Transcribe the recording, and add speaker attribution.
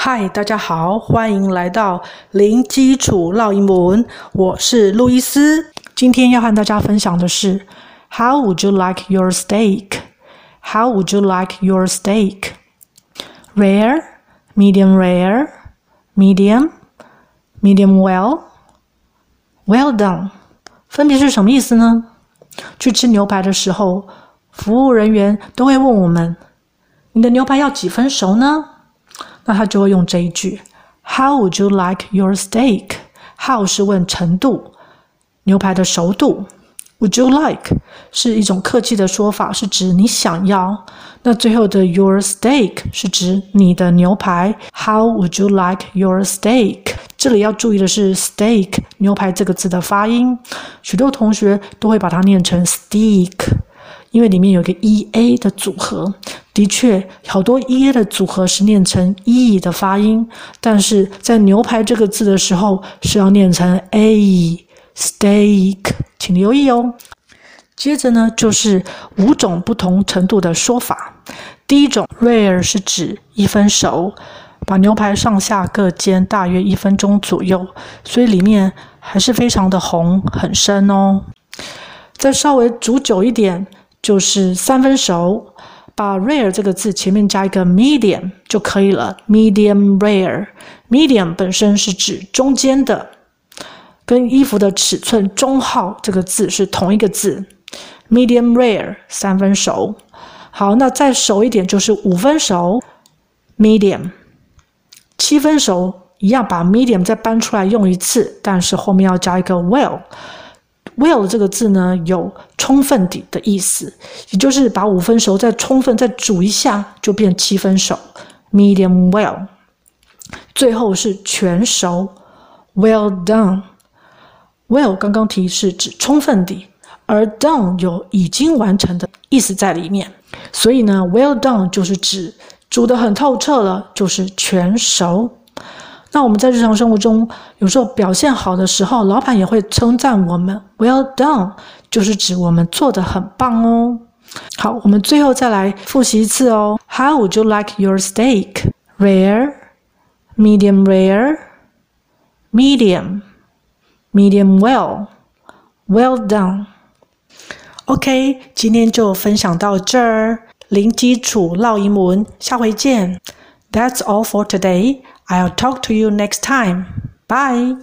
Speaker 1: 嗨，大家好，歡迎來到零基礎烙英文，我是路易斯。今天要和大家分享的是 How would you like your steak? How would you like your steak? Rare, medium rare, medium, medium well, well done. 分別是什麼意思呢？去吃牛排的時候，服務人員都會問我們，你的牛排要幾分熟呢？那他就會用這一句 How would you like your steak? How 是問程度，牛排的熟度。Would you like 是一種客氣的說法，是指你想要。那最後的 your steak 是指你的牛排。How would you like your steak? 這裡要注意的是 steak 牛排這個字的發音，許多同學都會把它念成 steak， 因為裡面有一個 EA 的組合。的確，好多 EA 的組合是念成 E 的發音，但是在牛排這個字的時候是要念成 A steak， 請留意哦。接着呢，就是5種不同程度的說法。第一種 rare 是指1分熟，把牛排上下各煎大約1分鐘左右，所以裡面還是非常的紅，很深哦。再稍微煮久一點，就是3分熟，把 rare 這個字前面加一個 medium 就可以了。medium rare， medium 本身是指中間的，跟衣服的尺寸中號這個字是同一個字。medium rare 3分熟。好，那再熟一點就是5分熟 medium。7分熟一樣把 medium 再搬出來用一次，但是後面要加一個 well。well 這個字呢，有充分底的意思，也就是把5分熟再充分再煮一下，就變7分熟 medium well。 最後是全熟 well done。 well 剛剛提示指充分底，而 done 有已經完成的意思在裡面，所以呢 well done 就是指煮得很透徹了，就是全熟。那我們在日常生活中有時候表現好的时候，老闆也會稱讚我們 well done， 就是指我們做得很棒哦。好，我們最後再來複習一次哦。 How would you like your steak? Rare, medium rare, medium, medium well, well done。 OK， 今天就分享到這兒，零基礎烙英文，下回見。That's all for today. I'll talk to you next time. Bye.